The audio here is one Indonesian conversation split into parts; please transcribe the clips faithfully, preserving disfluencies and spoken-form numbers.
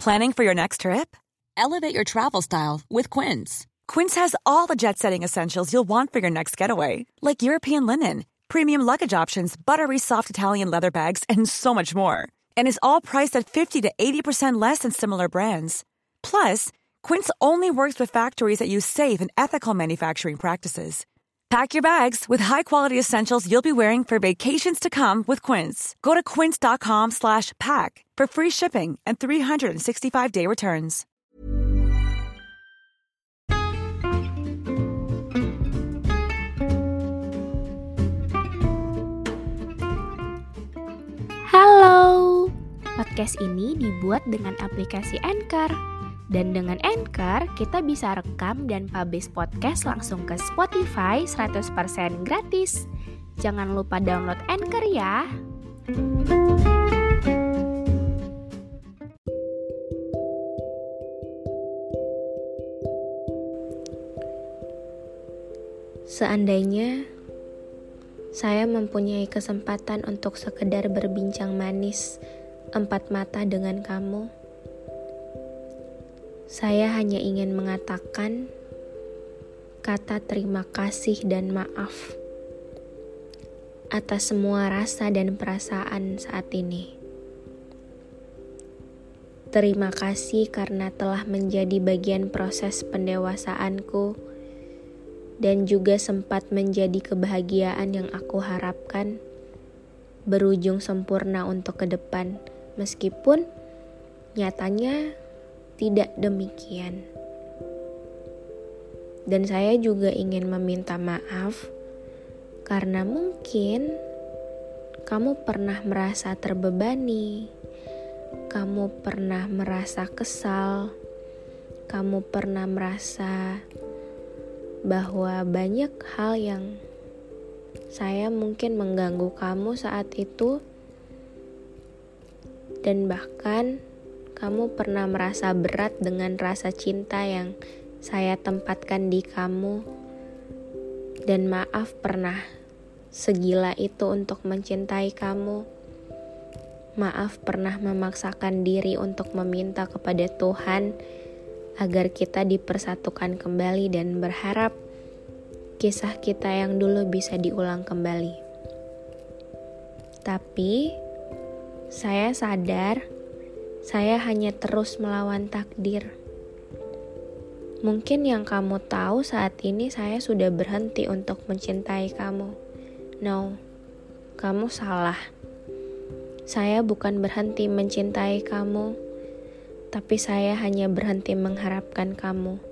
Planning for your next trip? Elevate your travel style with Quince. Quince has all the jet-setting essentials you'll want for your next getaway, like European linen, premium luggage options, buttery soft Italian leather bags, and so much more. And is all priced at fifty to eighty percent less than similar brands. Plus, Quince only works with factories that use safe and ethical manufacturing practices. Pack your bags with high-quality essentials you'll be wearing for vacations to come with Quince. Go to quince.com slash pack for free shipping and three sixty-five day returns. Halo, podcast ini dibuat dengan aplikasi Anchor. Dan dengan Anchor, kita bisa rekam dan publish podcast langsung ke Spotify seratus persen gratis. Jangan lupa download Anchor ya. Seandainya saya mempunyai kesempatan untuk sekedar berbincang manis empat mata dengan kamu, saya hanya ingin mengatakan kata terima kasih dan maaf atas semua rasa dan perasaan saat ini. Terima kasih karena telah menjadi bagian proses pendewasaanku dan juga sempat menjadi kebahagiaan yang aku harapkan berujung sempurna untuk ke depan, meskipun nyatanya tidak demikian. Dan saya juga ingin meminta maaf karena mungkin kamu pernah merasa terbebani, kamu pernah merasa kesal, kamu pernah merasa bahwa banyak hal yang saya mungkin mengganggu kamu saat itu, dan bahkan kamu pernah merasa berat dengan rasa cinta yang saya tempatkan di kamu. Dan maaf pernah segila itu untuk mencintai kamu. Maaf pernah memaksakan diri untuk meminta kepada Tuhan agar kita dipersatukan kembali dan berharap kisah kita yang dulu bisa diulang kembali. Tapi saya sadar saya hanya terus melawan takdir. Mungkin yang kamu tahu saat ini saya sudah berhenti untuk mencintai kamu. No, kamu salah. Saya bukan berhenti mencintai kamu, tapi saya hanya berhenti mengharapkan kamu.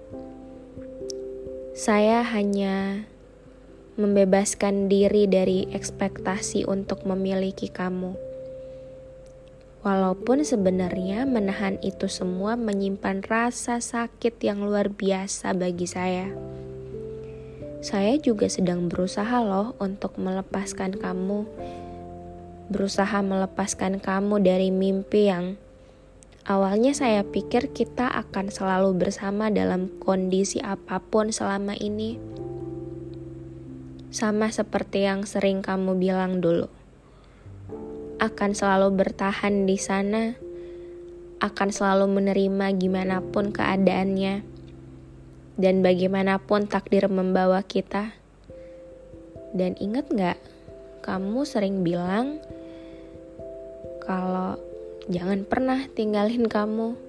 Saya hanya membebaskan diri dari ekspektasi untuk memiliki kamu. Walaupun sebenarnya menahan itu semua menyimpan rasa sakit yang luar biasa bagi saya. Saya juga sedang berusaha loh untuk melepaskan kamu. Berusaha melepaskan kamu dari mimpi yang awalnya saya pikir kita akan selalu bersama dalam kondisi apapun selama ini. Sama seperti yang sering kamu bilang dulu. Akan selalu bertahan di sana, akan selalu menerima gimana pun keadaannya, dan bagaimanapun takdir membawa kita. Dan ingat gak, kamu sering bilang kalau jangan pernah tinggalin kamu.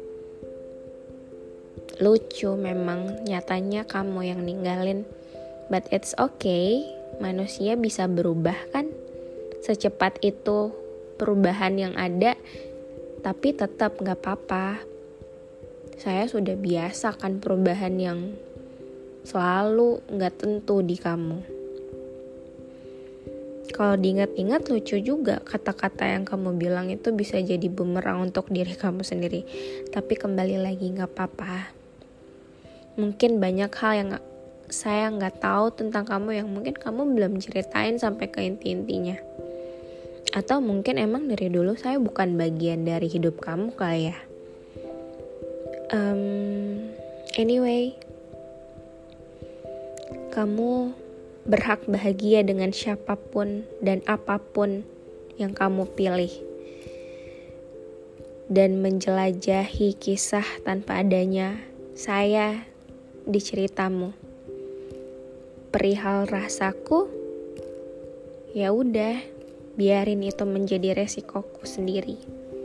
Lucu memang, nyatanya kamu yang ninggalin, but it's okay, manusia bisa berubah kan? Secepat itu perubahan yang ada, tapi tetap gak apa-apa. Saya sudah biasa kan perubahan yang selalu gak tentu di kamu. Kalau diingat-ingat lucu juga kata-kata yang kamu bilang itu bisa jadi bumerang untuk diri kamu sendiri. Tapi kembali lagi gak apa-apa. Mungkin banyak hal yang saya gak tahu tentang kamu yang mungkin kamu belum ceritain sampai ke inti-intinya. Atau mungkin emang dari dulu saya bukan bagian dari hidup kamu kali ya. Um, anyway, kamu berhak bahagia dengan siapapun dan apapun yang kamu pilih. dan menjelajahi kisah tanpa adanya saya di ceritamu. Perihal rasaku, ya udah, biarin itu menjadi resikoku sendiri.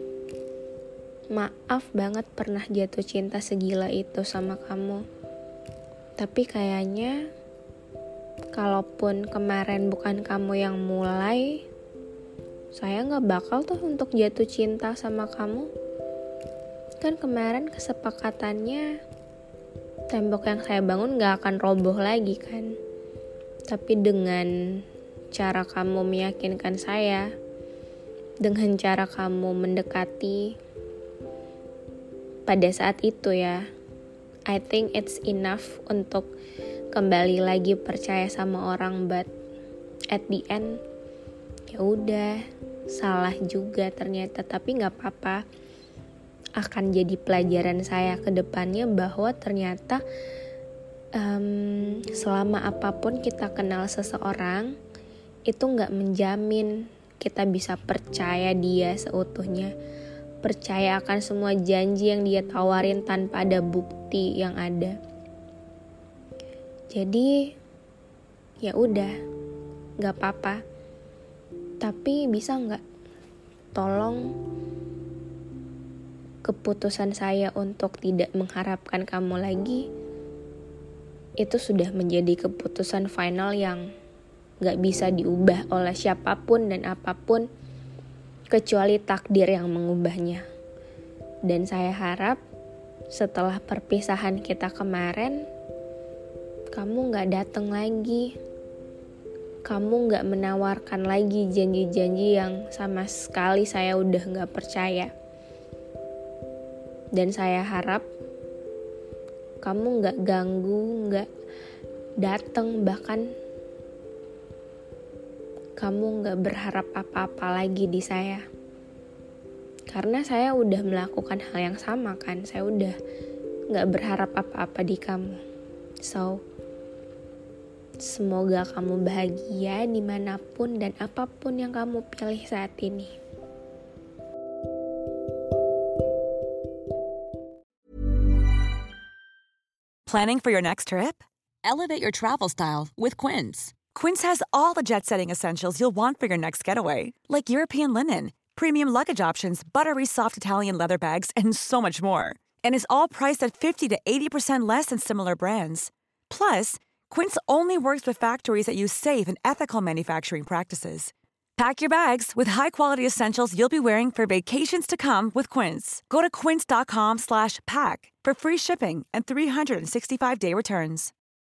Maaf banget pernah jatuh cinta segila itu sama kamu. Tapi kayaknya kalaupun kemarin bukan kamu yang mulai, saya gak bakal tuh untuk jatuh cinta sama kamu. Kan kemarin kesepakatannya tembok yang saya bangun gak akan roboh lagi kan. Tapi dengan cara kamu meyakinkan saya, dengan cara kamu mendekati pada saat itu ya, I think it's enough untuk kembali lagi percaya sama orang. But at the end, ya udah, salah juga ternyata. Tapi nggak apa-apa, akan jadi pelajaran saya ke depannya bahwa ternyata um, selama apapun kita kenal seseorang, itu nggak menjamin kita bisa percaya dia seutuhnya, percaya akan semua janji yang dia tawarin tanpa ada bukti yang ada. Jadi ya udah, nggak apa-apa. Tapi bisa nggak tolong keputusan saya untuk tidak mengharapkan kamu lagi, itu sudah menjadi keputusan final yang gak bisa diubah oleh siapapun dan apapun kecuali takdir yang mengubahnya. Dan saya harap setelah perpisahan kita kemarin, kamu gak datang lagi. Kamu gak menawarkan lagi janji-janji yang sama sekali saya udah gak percaya. Dan saya harap kamu gak ganggu, gak datang, bahkan kamu gak berharap apa-apa lagi di saya. Karena saya udah melakukan hal yang sama kan. Saya udah gak berharap apa-apa di kamu. So, semoga kamu bahagia dimanapun dan apapun yang kamu pilih saat ini. Planning for your next trip? Elevate your travel style with Quince. Quince has all the jet-setting essentials you'll want for your next getaway, like European linen, premium luggage options, buttery soft Italian leather bags, and so much more. And is all priced at fifty to eighty percent less than similar brands. Plus, Quince only works with factories that use safe and ethical manufacturing practices. Pack your bags with high-quality essentials you'll be wearing for vacations to come with Quince. Go to quince.com slash pack for free shipping and three sixty-five day returns.